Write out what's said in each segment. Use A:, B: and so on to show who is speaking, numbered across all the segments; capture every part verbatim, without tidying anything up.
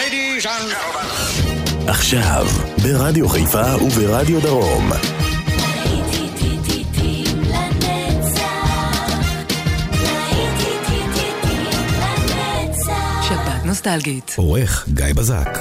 A: Ladies and gentlemen.
B: עכשיו, ברדיו חיפה וברדיו דרום.
C: שבת נוסטלגית.
B: עורך גיא בזק.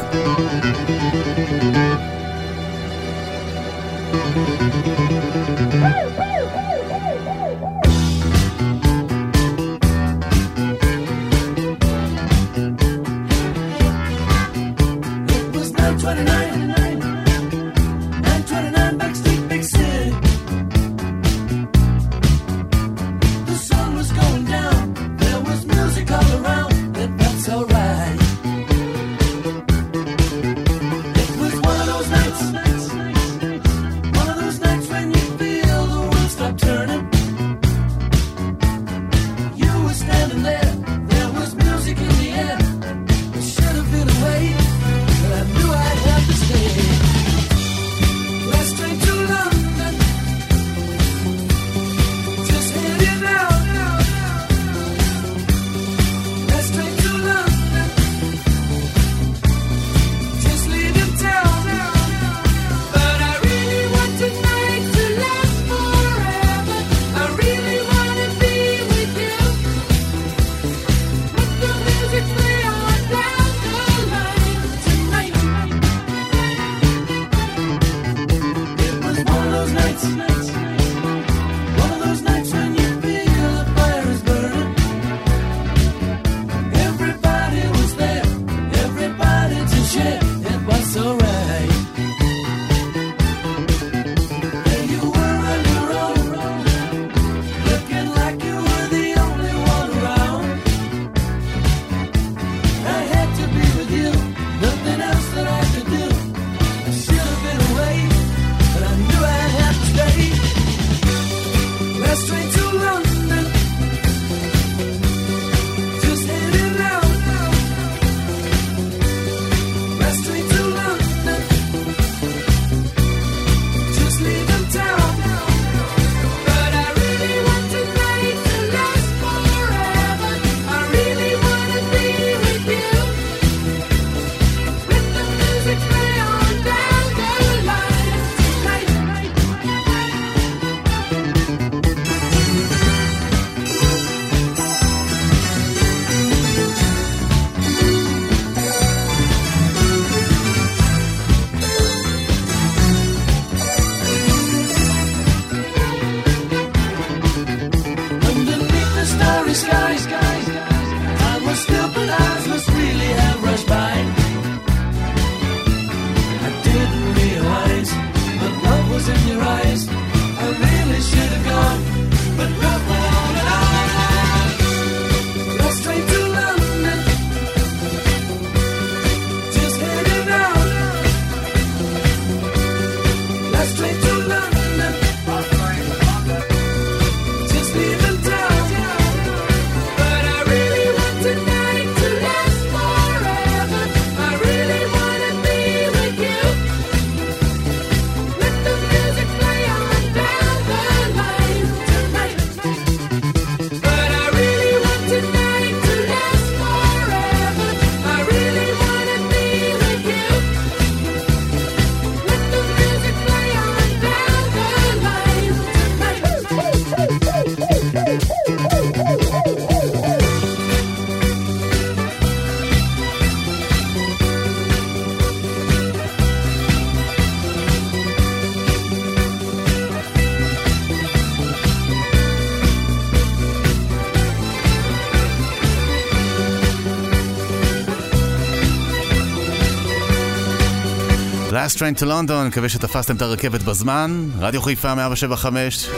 D: Last Train to London, מקווה שתפסתם את הרכבת בזמן. רדיו חיפה מאה שבע חמש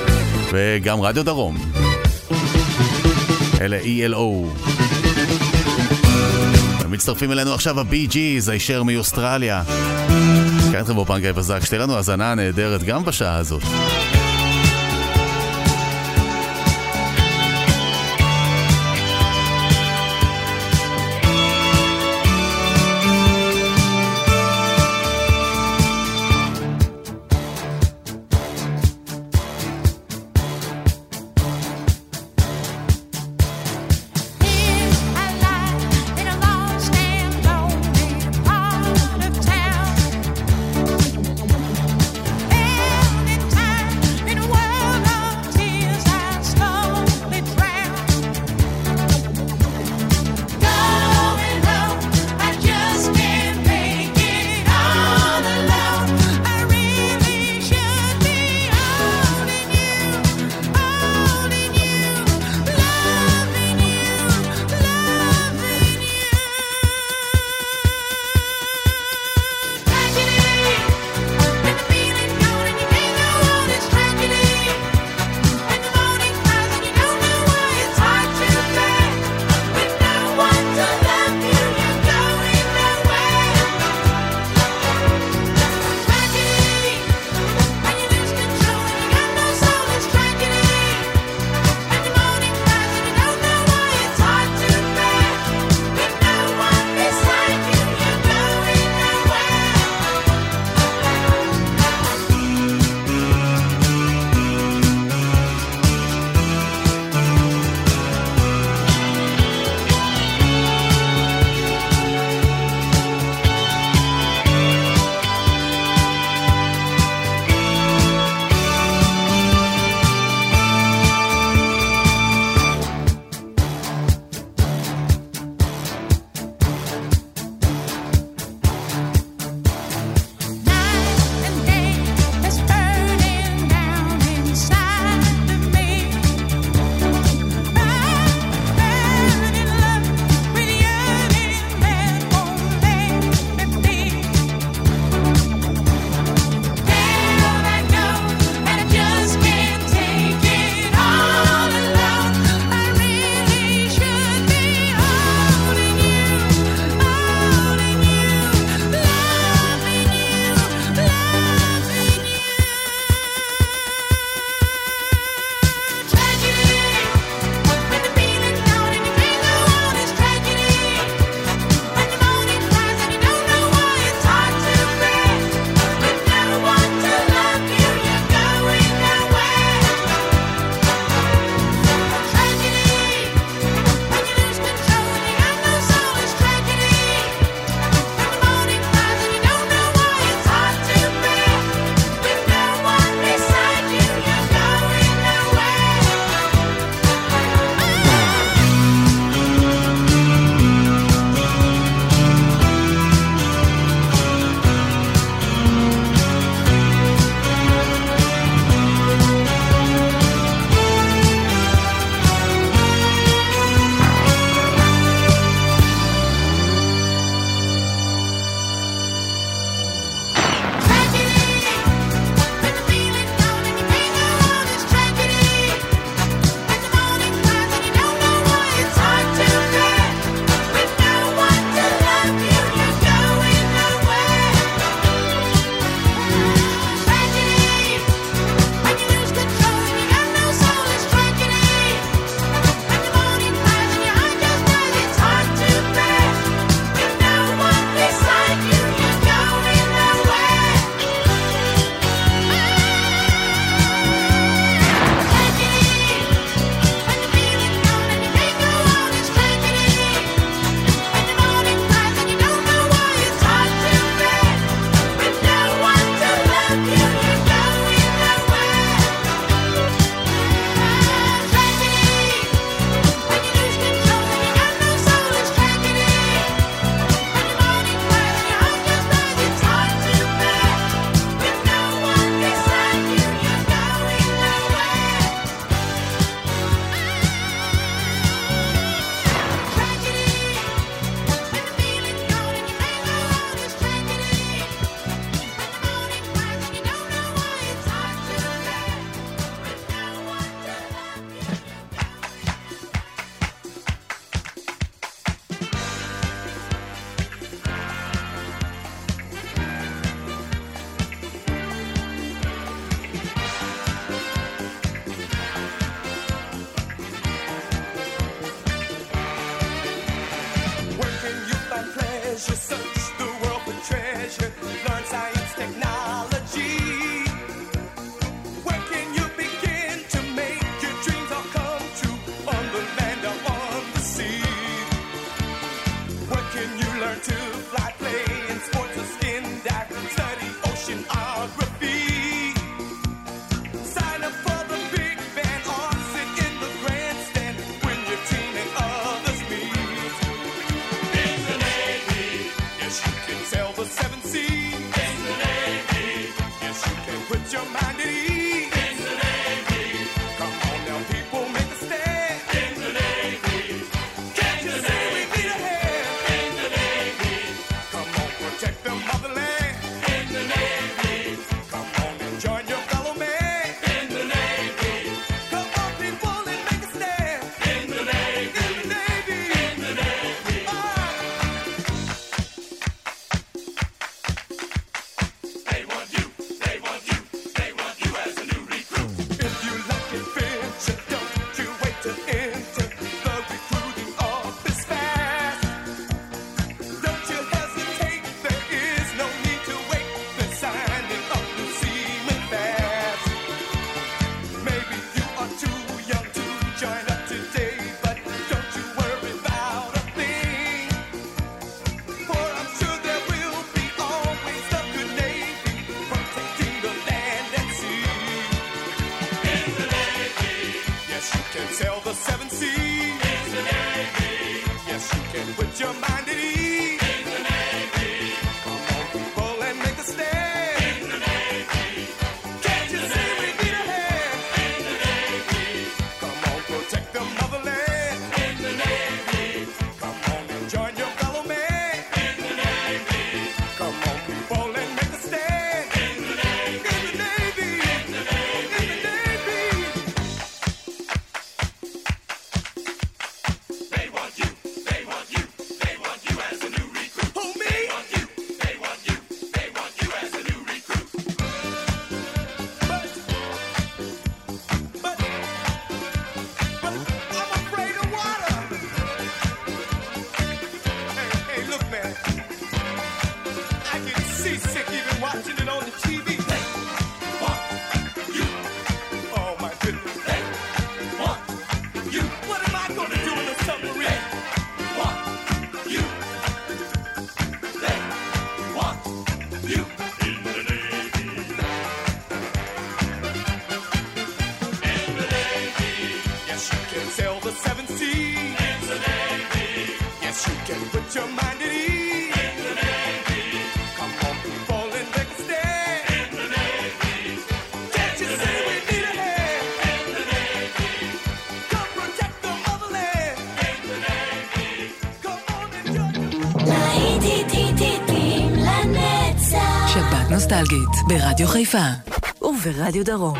D: וגם רדיו דרום. אלה E L O. מצטרפים אלינו עכשיו ה-Bee Gees, הישר מאוסטרליה. כאן אתכם באופן גיא בזק, שתהיה לנו הזנה נהדרת גם בשעה הזאת.
E: In a lost and lonely
C: נוסטלגית ברדיו חיפה וברדיו דרום.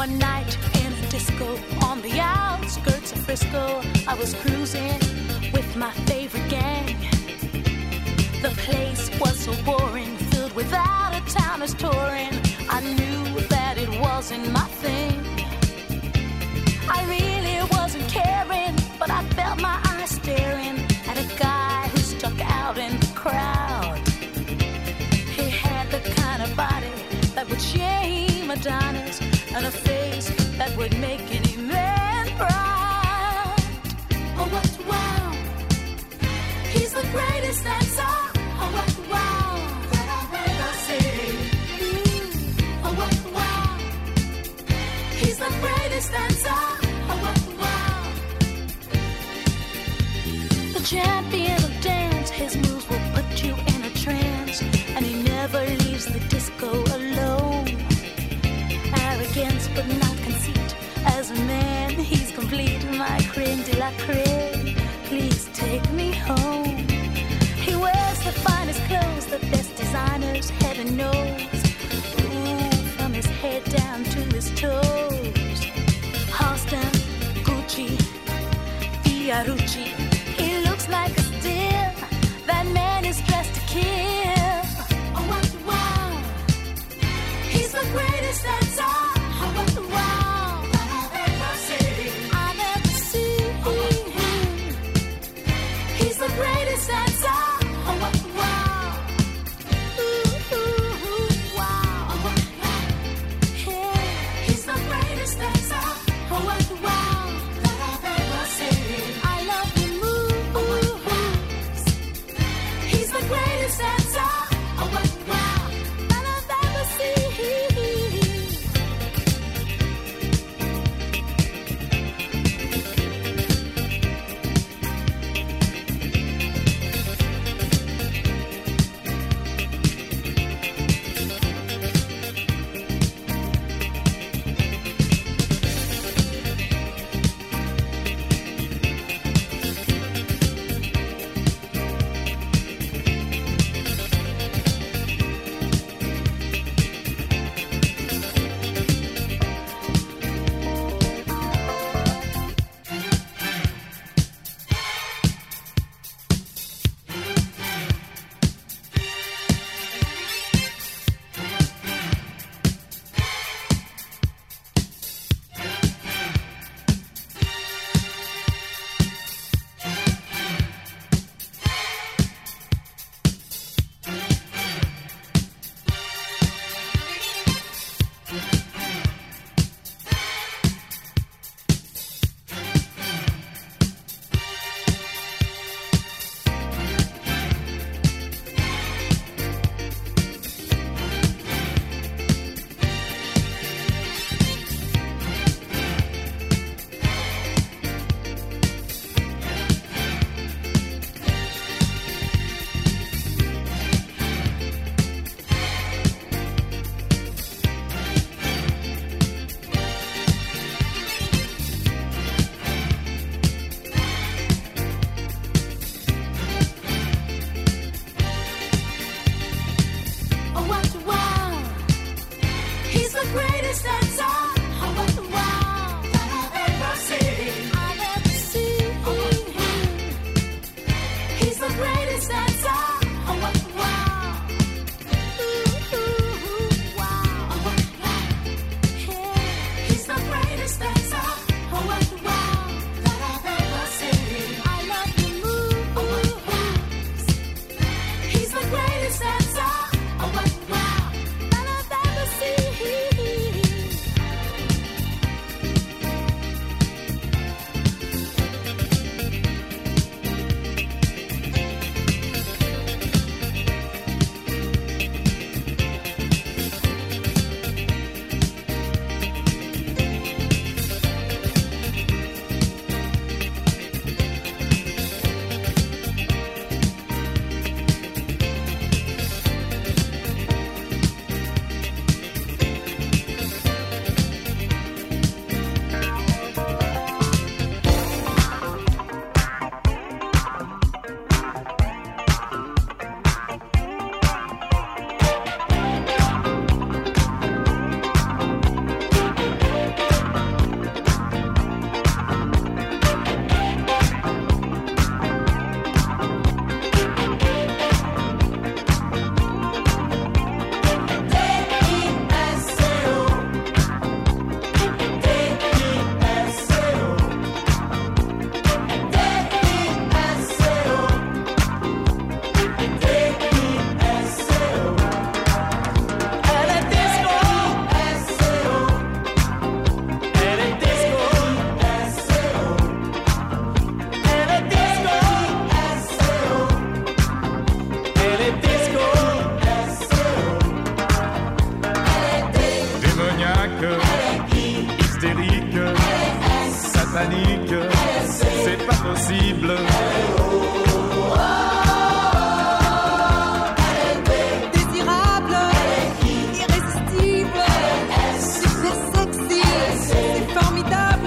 E: One night in a disco on the outskirts of Frisco, I was cruising with my favorite gang. The place was so boring, filled with out-of-towners touring. I knew that it wasn't my thing. I really wasn't caring, but I felt my eyes staring at a guy who stuck out in the crowd. He had the kind of body that would shame Adonis, and a face that would make any man proud. Oh, what wow! He's the greatest dancer. Oh, what wow! That I've ever seen. Mm. Oh, what wow! He's the greatest dancer. Oh, what wow! The champion of dance, his moves will put you in a trance, and he never leaves the disco alone. Arrogance but not conceit. As a man, he's complete. My creme de la creme. Please take me home. He wears the finest clothes, the best designers, heaven knows. Ooh, from his head down to his toes. Halston, Gucci, Fiorucci. He looks like a steal. That man is dressed to kill. Oh, what wow! He's the greatest dancer. Oh, what wow! That I've ever seen. I've ever seen. He's the greatest dancer. Oh, what wow! Ooh, ooh, ooh, wow! Oh, what wow! Yeah. He's the greatest dancer. Oh, what wow! That I've ever seen. I love the moves. He's the greatest dancer. Oh, what wow! That I've ever seen.
F: hystérique, satanique, c'est pas possible.
G: Désirable, irrésistible, super sexy, c'est formidable.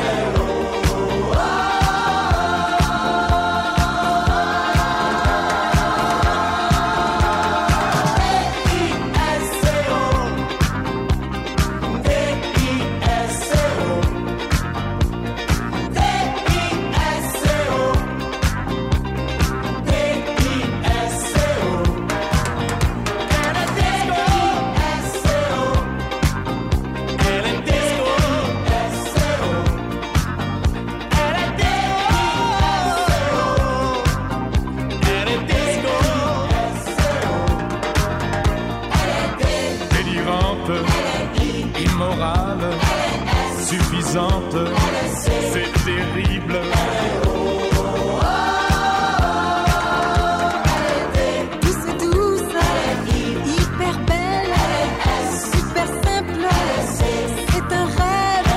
F: Immorale, suffisante, c'est terrible.
G: Douce et douce, hyper belle, super simple, c'est un rêve.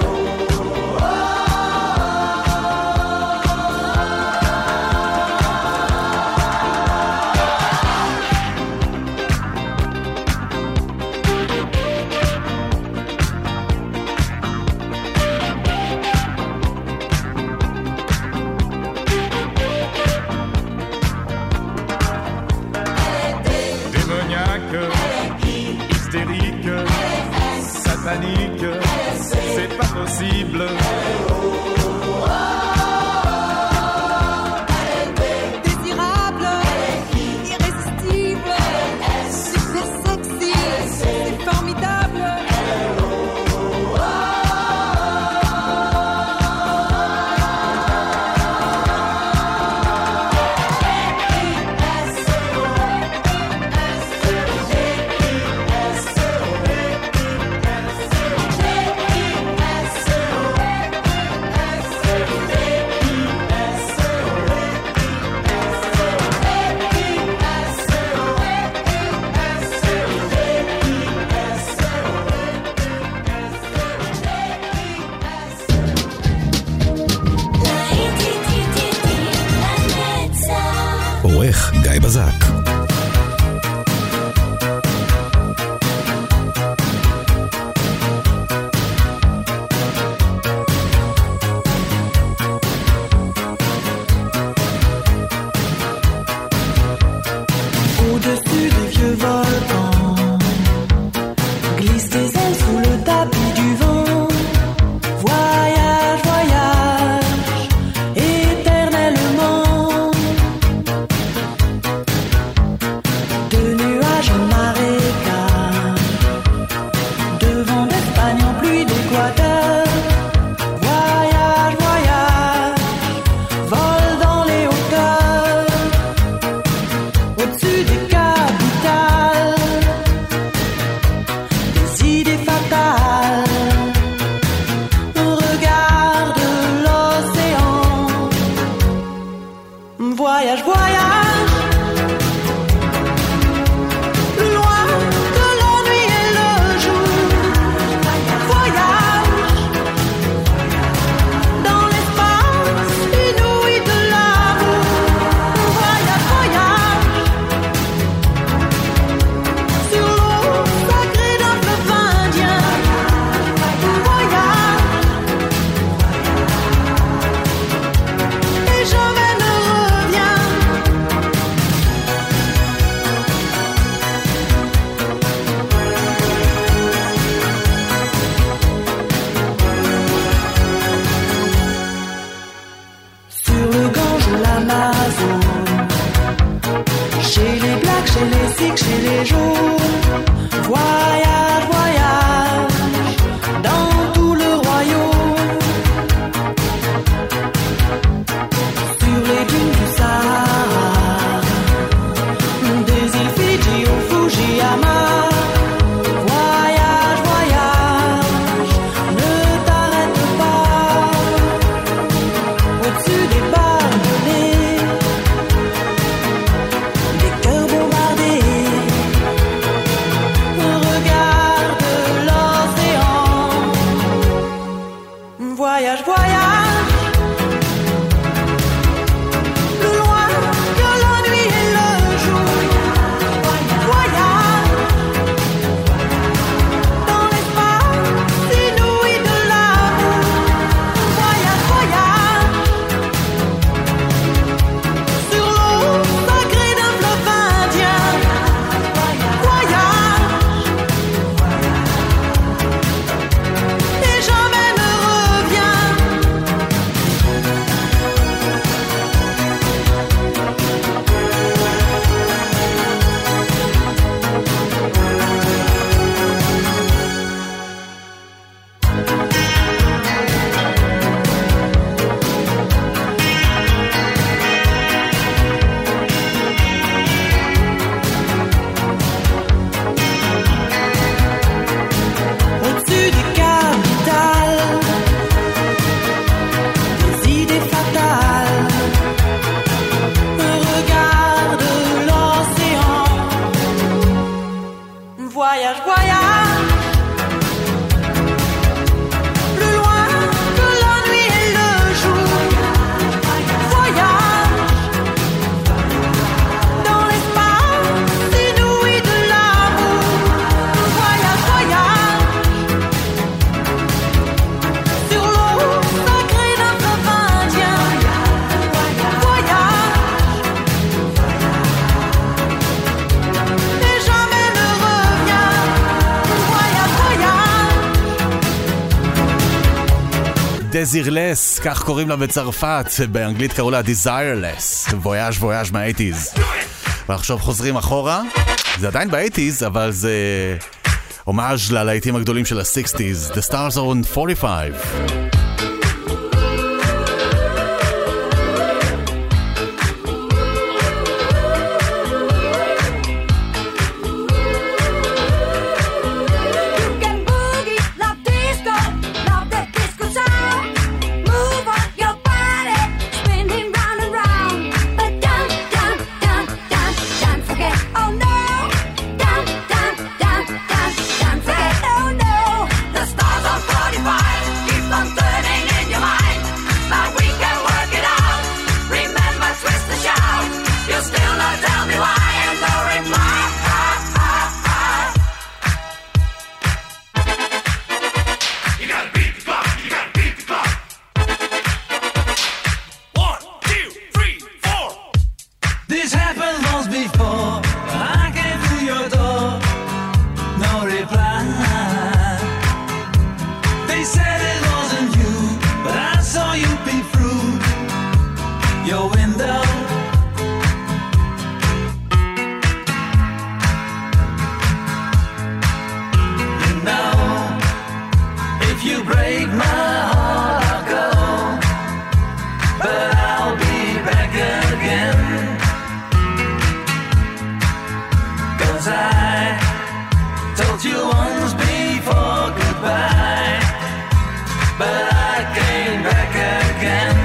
F: Hystérique, satanique, c'est pas possible.
G: Désirable, irrésistible, super sexy, c'est formidable.
B: עורך גיא בזק.
G: Au-dessus des vieux volcans, glisse des ailes sous le tapis du vent. Voyage, voyage, éternellement. De nuages en marécage, de vent d'Espagne en pluie d'Équateur. Voyage, voyage, vol dans les hauteurs. Au-dessus des capitales, des idées fatales. On regarde l'océan. Voyage, voyage, loin de l'ennui et le jour. Voyage, dans l'espace inouï de l'amour. Voyage, voyage, sur l'eau sacrée d'un fleuve indien. Voyage, et jamais ne reviens. Sur le Gange ou l'Amazone, chez les Blacks, chez les Sikhs, chez les Jaunes. Voyage, voyage, dans tout le royaume. Sur les dunes du Sahara, des îles Fidji au Fujiyama. Voyage, voyage, ne t'arrête pas. Au-dessus des barbelés, des cœurs bombardés. voyage. Plus loin que la nuit et le jour. Voyage dans l'espace inouï de l'amour. Voyage, voyage sur l'eau sacrée d'un fleuve indien. Voyage et jamais ne revient. Au-dessus des capitales, des idées fatales, regarde l'océan. Voyage, voyage, plus loin que la nuit et le jour. Voyage dans l'espace inouï de l'amour. Voyage, voyage sur l'eau sacrée d'un fleuve indien. Voyage et jamais ne revient. Voyage, voyage.
D: Desireless, כך קוראים לה בצרפת, באנגלית קראו לה Desireless, וויאז' וויאז' מה-שמונים. ועכשיו חוזרים אחורה, זה עדיין ב-שמונים, אבל זה הומאז' ללהיטים הגדולים של ה-שישים. The Stars are on forty-five.
E: You can boogie, love disco, love that disco sound. Move on your body, spinning round and round. But don't, don't, don't, don't, don't forget, oh no. Don't, don't, don't, don't, don't forget, oh no. The stars on forty-five keep on turning in your mind. But we can work it out. Remember, twist the shout. You still not tell me why, and no reply.
A: You gotta beat the clock, you gotta beat the clock. One, two, three, four.
H: This happened once before. I came to your door, no reply. They said it wasn't you, but I saw you peep through your window. You know, if you break my heart, I'll go, but I'll be back again. 'Cause I told you once before goodbye, but I came back again.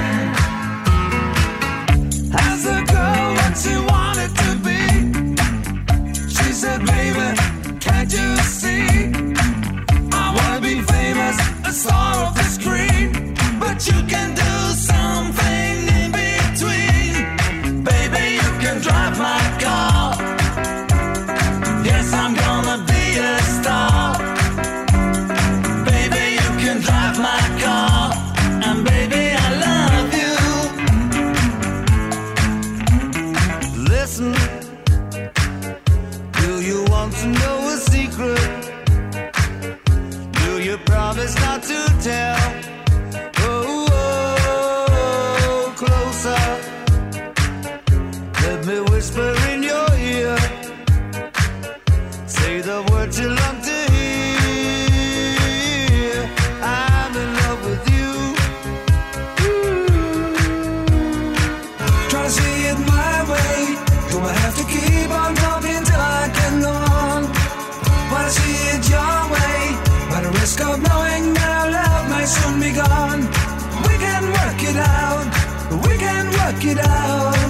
H: As a girl what she wanted to be, she said, baby, can't you see? I wanna be famous, a star of the screen, but you can do something in between. Baby, you can drive my car. Yes, I'm gonna be a star. Baby, you can drive my car. And baby, I love you. Listen, do you want to know a secret? Do you promise not to tell? Oh, oh, closer. Let me whisper in your ear. Say the words you love to hear. I'm in love with you. Try to see it my way. Gonna have to keep on talking till I can go on. Wanna see it your way, by the risk of knowing that our love may soon be gone. We can work it out. We can work it out.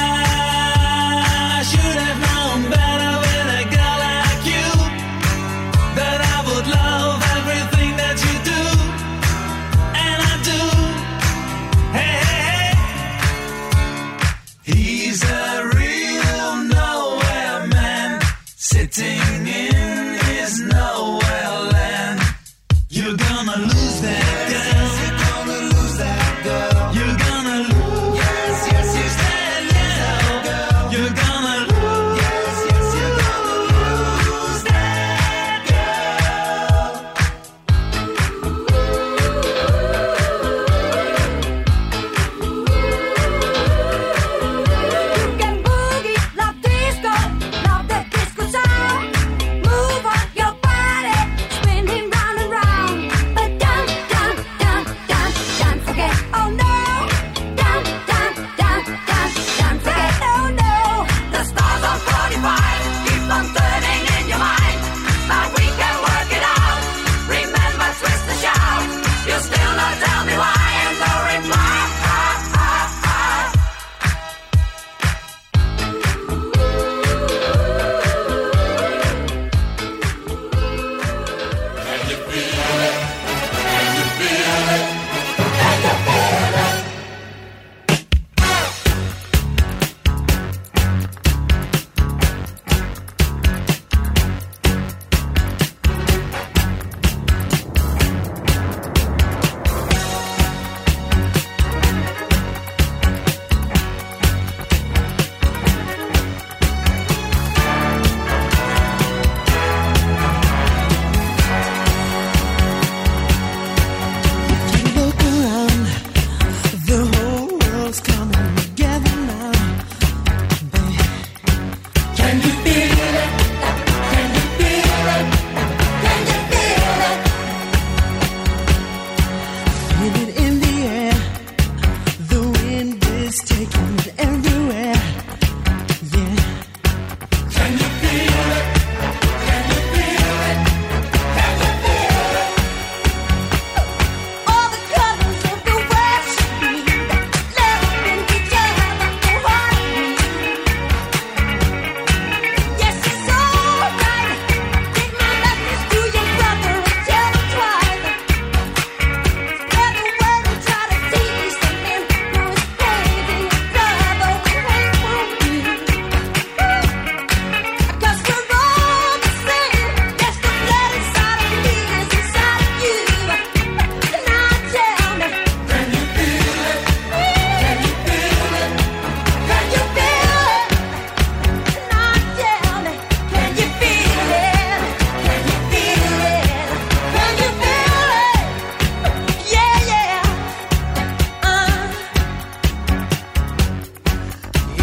H: I should have known better with a girl like you.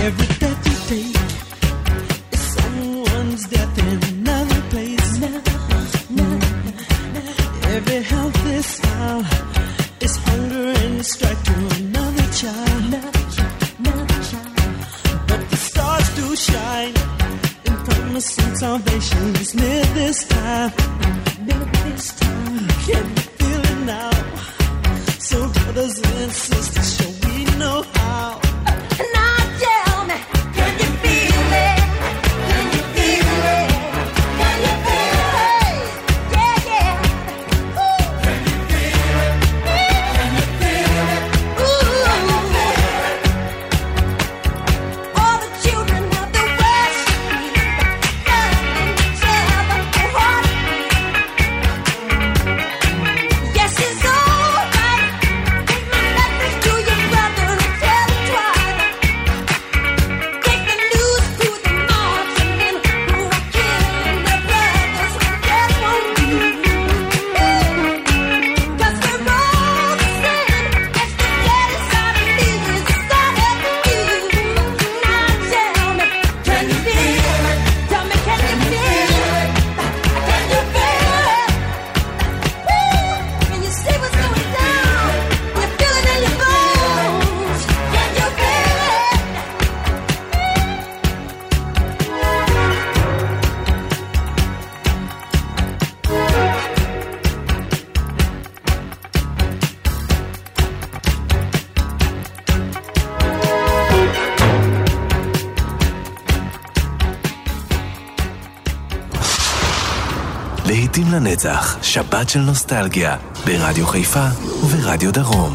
G: Every step you take is someone's death in another place. Every healthy smile is hunger and strike to another child. But the stars do shine in promising salvation. It's near this time. Can you feel it now? So brothers and sisters, shall we know how?
E: Now tell me, can you feel it? Can you feel it? Can you feel it? Yeah, yeah. Ooh. Can you feel it? Can you feel it? Ooh. All the children of the West love each other wholeheartedly. Yes, it's all right. Take my message to your brother and tell him twice. Take the news to the marksmen who are killing their brothers and that won't do. 'Cause we're all the same. It's the bloody side of me, it's the side of you. Now tell me, can you feel it? Tell me, can you feel it? Can you feel it? Woo! Can you see what's going down? You feel it in your bones. Can you feel it?
B: להיטים לנצח, שבת של נוסטלגיה, ברדיו חיפה וברדיו דרום.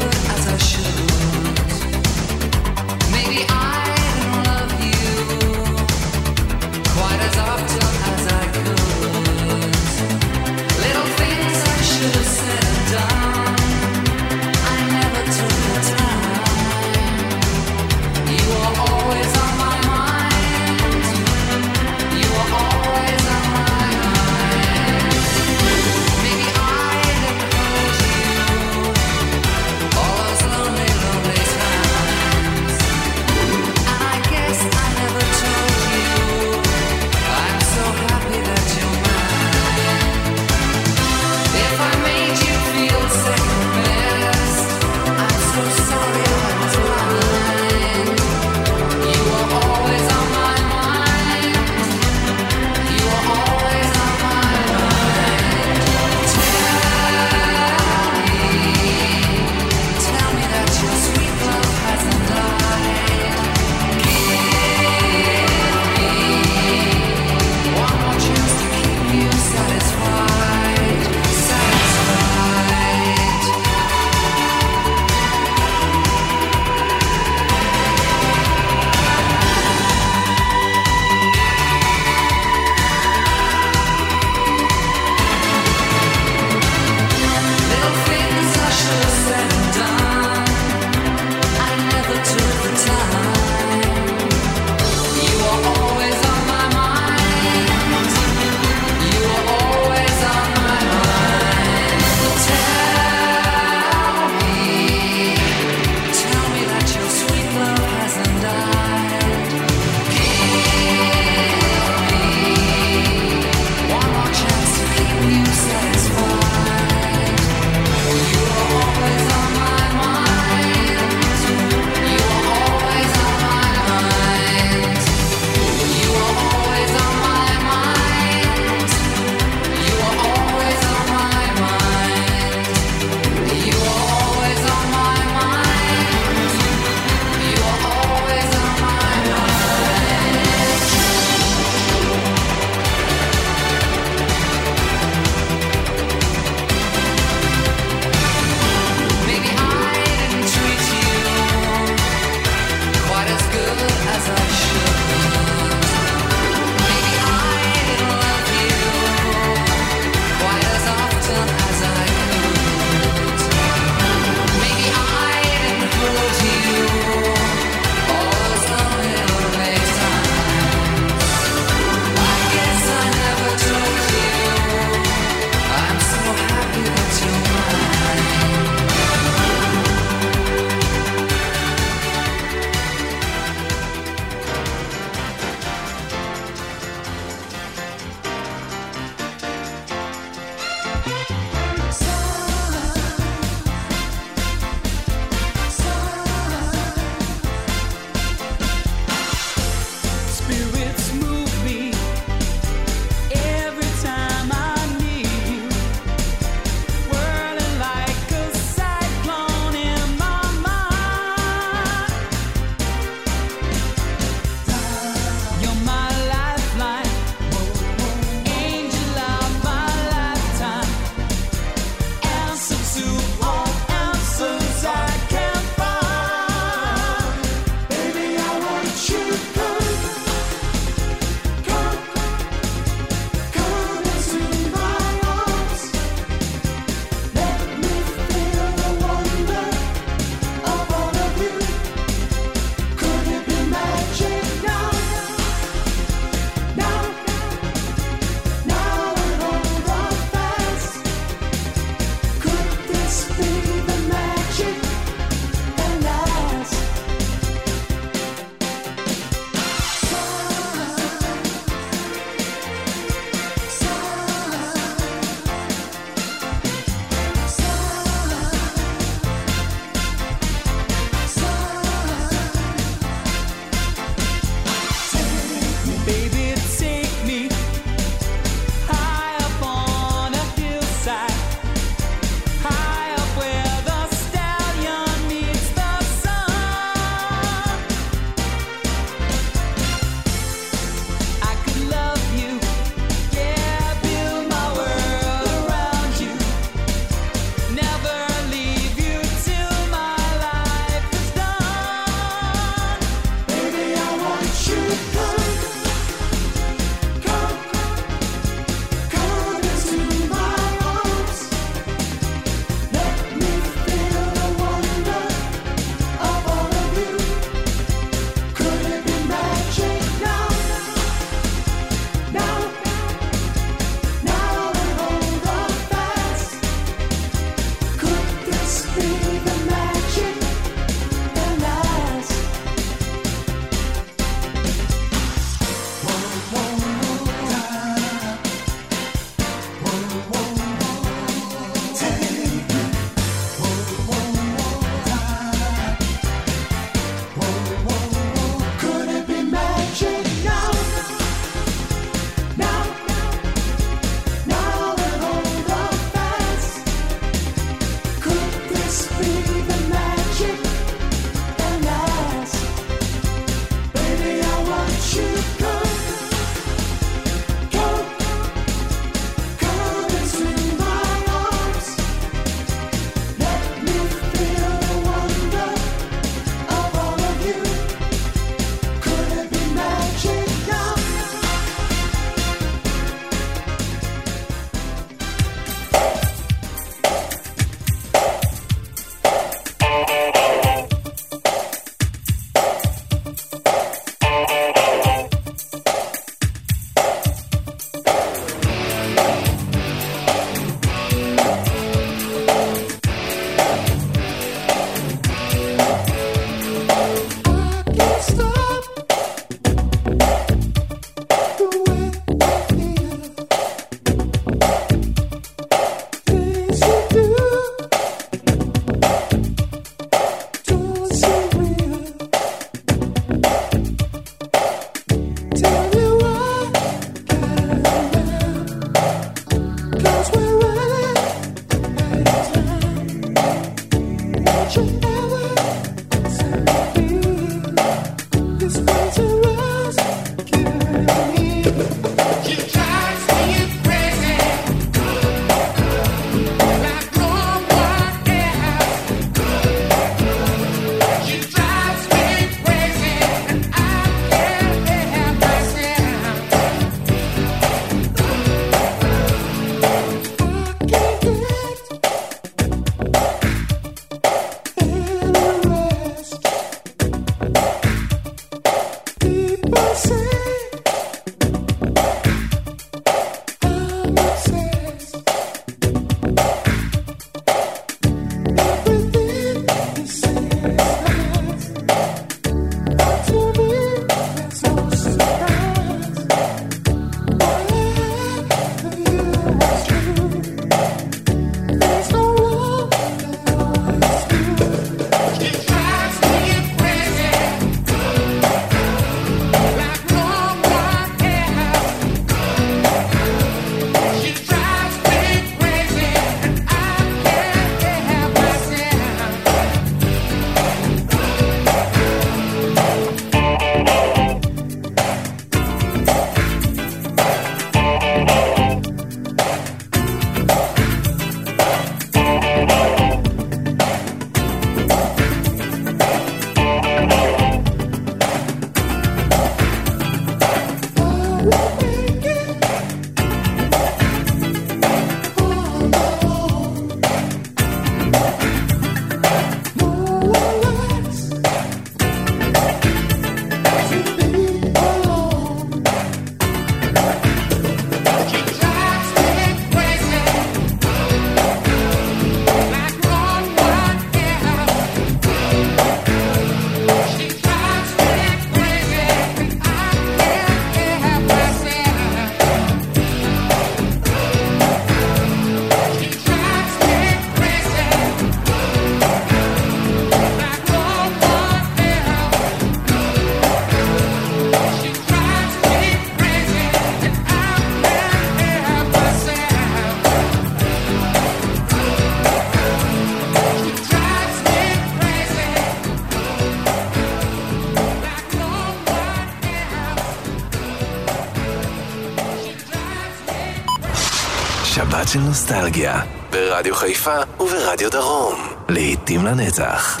B: שבת של נוסטלגיה, ברדיו חיפה וברדיו דרום. לעתים לנצח.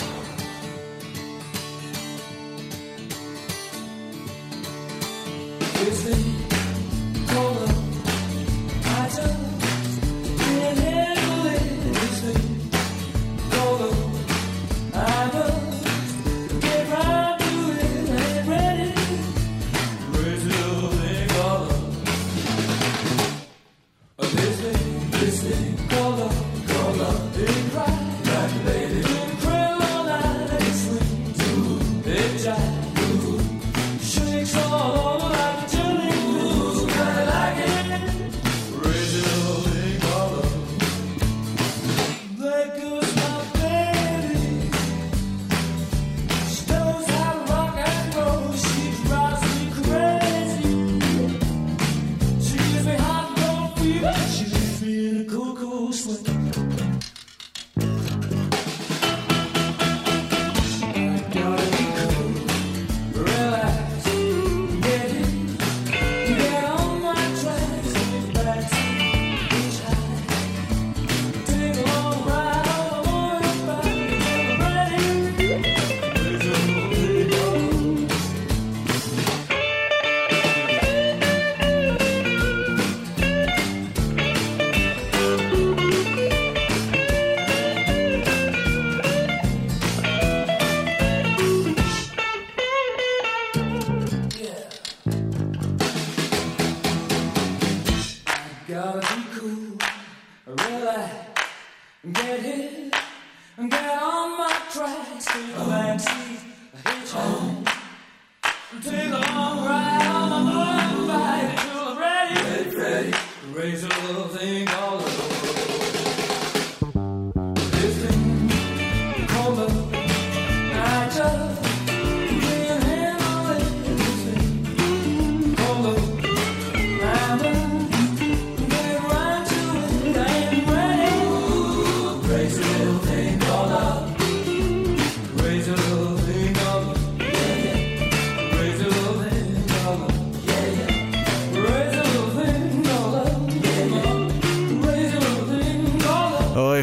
H: Crazy little thing called love.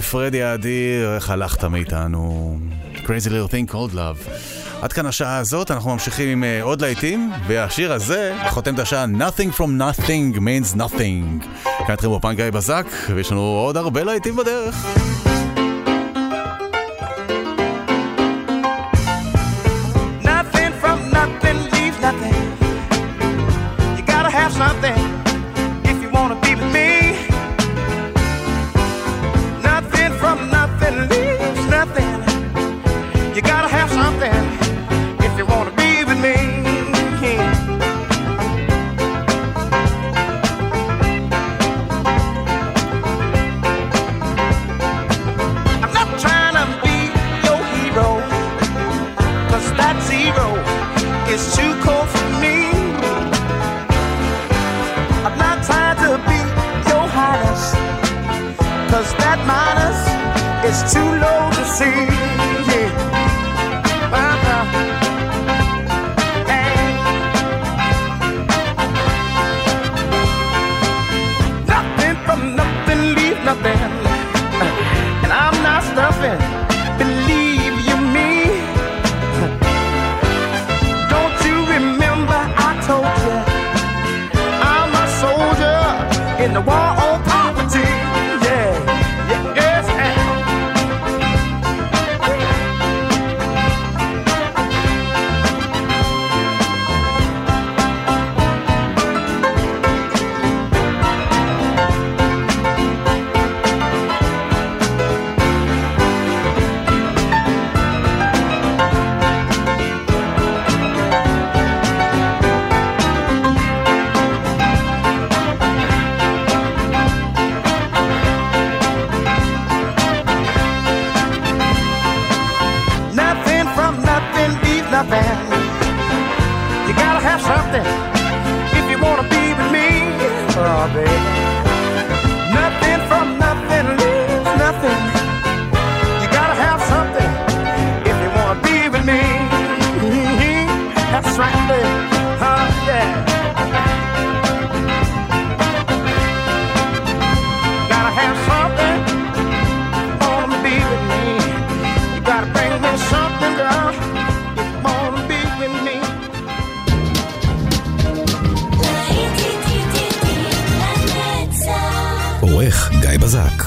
D: פרדי האדיר, איך הלכת מאיתנו? Crazy Little Thing Called Love. עד כאן השעה הזאת, אנחנו ממשיכים עם uh, עוד להיטים, והשיר הזה חותם את השעה Nothing from Nothing means Nothing. כאן אתכם בפן גיא בזק, ויש לנו עוד הרבה להיטים בדרך.
I: Nothing from nothing leaves nothing. You gotta have something if you wanna be with me. Nothing from nothing leaves nothing. You gotta have something if you wanna be with me. I'm not trying to be your hero, 'cause that zero is too cold for me. I'm not trying to be your highness, 'cause that minus is too low to see. Yeah. Nothing from nothing leave nothing, and I'm not stuffing, believe you me. Don't you remember I told you I'm a soldier in the war on poverty. Yeah, yeah, yes, and nothing from nothing leaves nothing. You gotta have something if you wanna be with me. Oh, baby. Nothing from nothing leaves nothing. You gotta have something if you wanna be with me. That's right, baby. Huh, yeah. Gotta have something if you wanna be with me. You gotta bring me something, girl, if you wanna be with me.
B: עורך גיא בזק.